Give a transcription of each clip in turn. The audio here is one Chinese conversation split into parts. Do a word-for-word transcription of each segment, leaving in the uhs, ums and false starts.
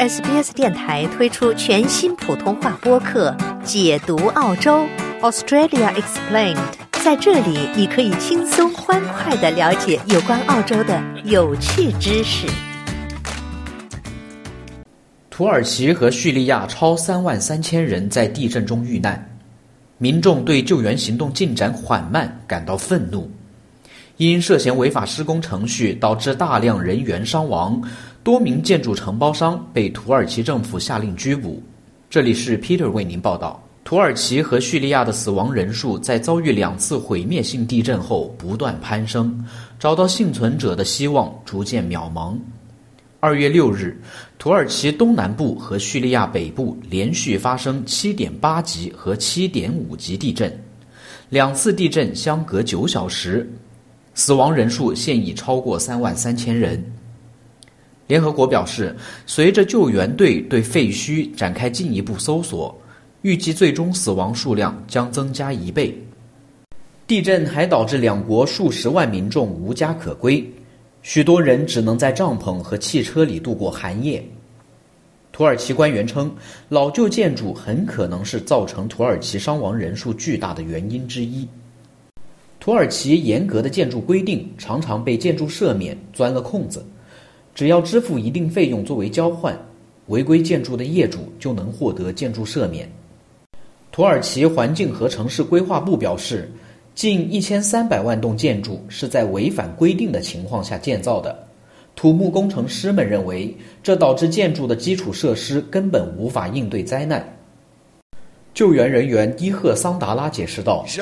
S B S 电台推出全新普通话播客解读澳洲 Australia Explained， 在这里你可以轻松欢快地了解有关澳洲的有趣知识。 土耳其和叙利亚超三万三千人在地震中遇难，民众对救援行动进展缓慢感到愤怒。因涉嫌违法施工程序导致大量人员伤亡，多名建筑承包商被土耳其政府下令拘捕。这里是 Peter 为您报道。土耳其和叙利亚的死亡人数在遭遇两次毁灭性地震后不断攀升，找到幸存者的希望逐渐渺茫。二月六日，土耳其东南部和叙利亚北部连续发生 七点八 级和 七点五 级地震，两次地震相隔九小时，死亡人数现已超过三万三千人。联合国表示，随着救援队对废墟展开进一步搜索，预计最终死亡数量将增加一倍。地震还导致两国数十万民众无家可归，许多人只能在帐篷和汽车里度过寒夜。土耳其官员称，老旧建筑很可能是造成土耳其伤亡人数巨大的原因之一。土耳其严格的建筑规定常常被建筑赦免钻了空子，只要支付一定费用作为交换，违规建筑的业主就能获得建筑赦免。土耳其环境和城市规划部表示，近一千三百万栋建筑是在违反规定的情况下建造的。土木工程师们认为，这导致建筑的基础设施根本无法应对灾难。救援人员伊赫桑达拉解释道，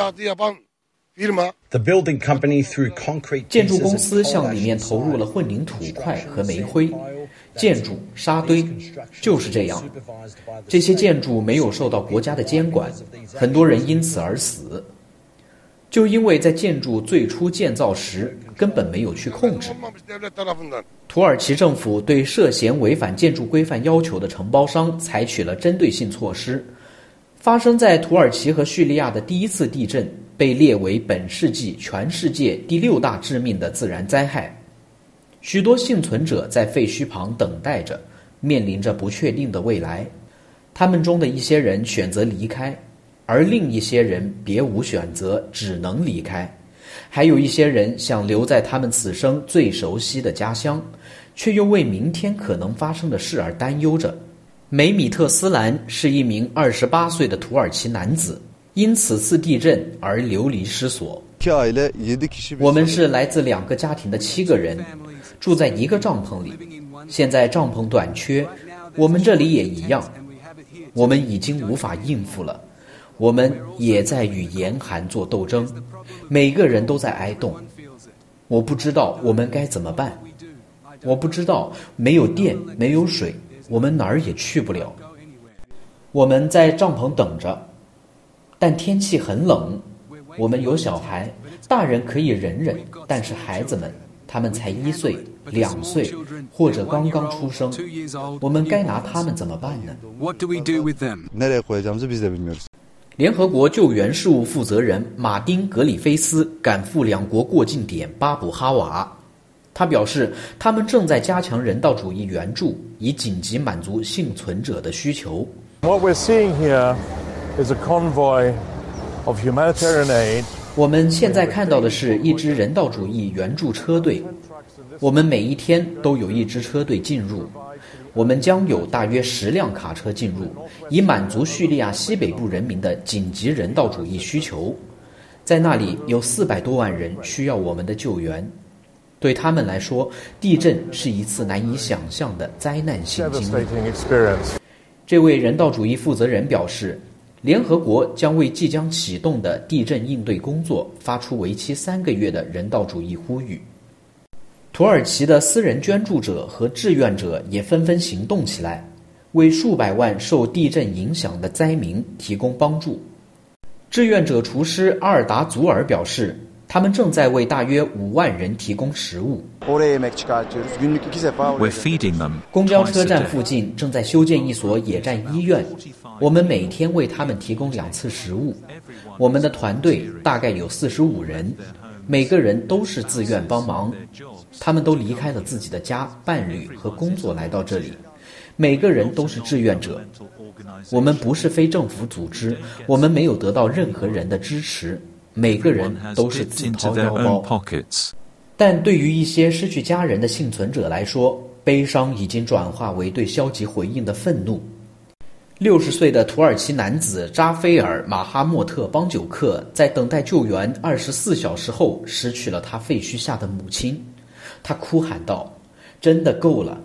建筑公司向里面投入了混凝土块和煤灰，建筑沙堆就是这样。这些建筑没有受到国家的监管，很多人因此而死，就因为在建筑最初建造时根本没有去控制。土耳其政府对涉嫌违反建筑规范要求的承包商采取了针对性措施。发生在土耳其和叙利亚的第一次地震被列为本世纪全世界第六大致命的自然灾害。许多幸存者在废墟旁等待着，面临着不确定的未来。他们中的一些人选择离开，而另一些人别无选择，只能离开。还有一些人想留在他们此生最熟悉的家乡，却又为明天可能发生的事而担忧着。梅米特斯兰是一名二十八岁的土耳其男子，因此次地震而流离失所。我们是来自两个家庭的七个人，住在一个帐篷里。现在帐篷短缺，我们这里也一样。我们已经无法应付了，我们也在与严寒做斗争，每个人都在挨冻。我不知道我们该怎么办，我不知道没有电，没有水，我们哪儿也去不了。我们在帐篷等着，但天气很冷。我们有小孩，大人可以忍忍，但是孩子们，他们才一岁、两岁，或者刚刚出生，我们该拿他们怎么办呢？联合国救援事务负责人马丁·格里菲斯赶赴两国过境点巴卜哈瓦。他表示，他们正在加强人道主义援助，以紧急满足幸存者的需求。 What we're seeing here is a convoy of humanitarian aid. 我们现在看到的是一支人道主义援助车队。我们每一天都有一支车队进入，我们将有大约十辆卡车进入，以满足叙利亚西北部人民的紧急人道主义需求。在那里有四百多万人需要我们的救援。对他们来说，地震是一次难以想象的灾难性经历。这位人道主义负责人表示，联合国将为即将启动的地震应对工作发出为期三个月的人道主义呼吁。土耳其的私人捐助者和志愿者也纷纷行动起来，为数百万受地震影响的灾民提供帮助。志愿者厨师阿尔达祖尔表示，他们正在为大约五万人提供食物。 We're feeding them. 公交车站附近正在修建一所野战医院，我们每天为他们提供两次食物。我们的团队大概有四十五人，每个人都是自愿帮忙。他们都离开了自己的家、伴侣和工作来到这里。 每个人都是志愿者。我们不是非政府组织，我们没有得到任何人的支持，每个人都是自掏腰包。但对于一些失去家人的幸存者来说，悲伤已经转化为对消极回应的愤怒。六十岁的土耳其男子扎菲尔·马哈莫特·邦久克在等待救援二十四小时后失去了他废墟下的母亲，他哭喊道：“真的够了！”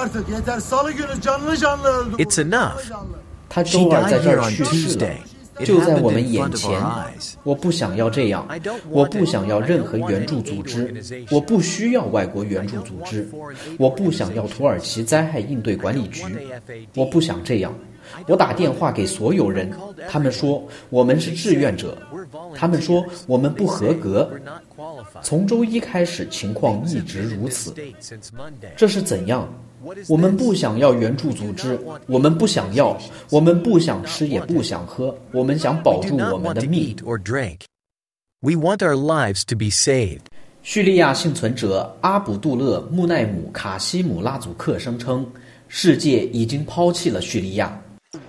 It's enough. 他周二在这儿去世了，就在我们眼前。我不想要这样，我不想要任何援助组织，我不需要外国援助组织，我不想要土耳其灾害应对管理局，我不想这样。我打电话给所有人，他们说我们是志愿者，他们说我们不合格。从周一开始，情况一直如此。这是怎样？我们不想要援助组织，我们不想要，我们不想吃也不想喝，我们想保住我们的命。 We want our lives to be saved. 叙利亚幸存者阿卜杜勒·穆奈姆·卡西姆拉祖克声称，世界已经抛弃了叙利亚。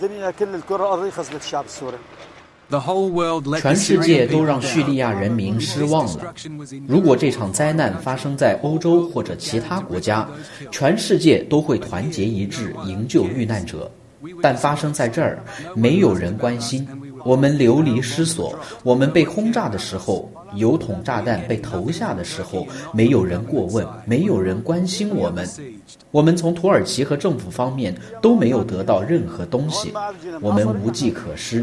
全世界都让叙利亚人民失望了。如果这场灾难发生在欧洲或者其他国家，全世界都会团结一致营救遇难者。但发生在这儿，没有人关心。我们流离失所，我们被轰炸的时候，油桶炸弹被投下的时候，没有人过问，没有人关心我们。我们从土耳其和政府方面都没有得到任何东西，我们无计可施。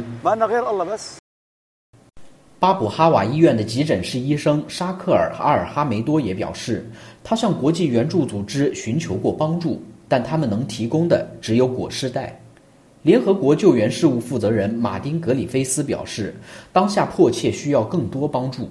巴卜哈瓦医院的急诊室医生沙克尔·阿尔哈梅多也表示，他向国际援助组织寻求过帮助，但他们能提供的只有裹尸袋。联合国救援事务负责人马丁·格里菲斯表示，当下迫切需要更多帮助。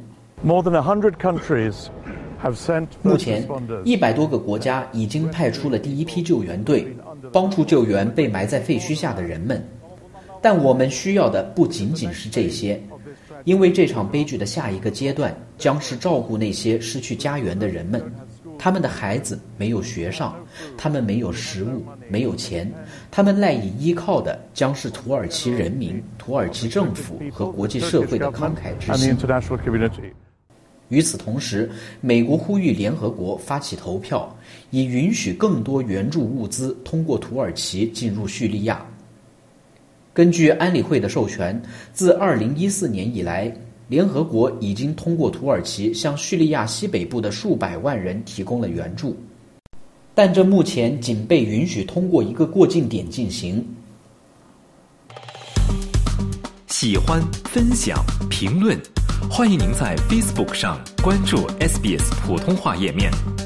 目前，一百多个国家已经派出了第一批救援队，帮助救援被埋在废墟下的人们。但我们需要的不仅仅是这些，因为这场悲剧的下一个阶段将是照顾那些失去家园的人们。他们的孩子没有学上，他们没有食物，没有钱，他们赖以依靠的将是土耳其人民、土耳其政府和国际社会的慷慨之心。与此同时，美国呼吁联合国发起投票，以允许更多援助物资通过土耳其进入叙利亚。根据安理会的授权，自二零一四年以来，联合国已经通过土耳其向叙利亚西北部的数百万人提供了援助，但这目前仅被允许通过一个过境点进行。 喜欢、分享、评论，欢迎您在 Facebook 上关注 S B S 普通话页面。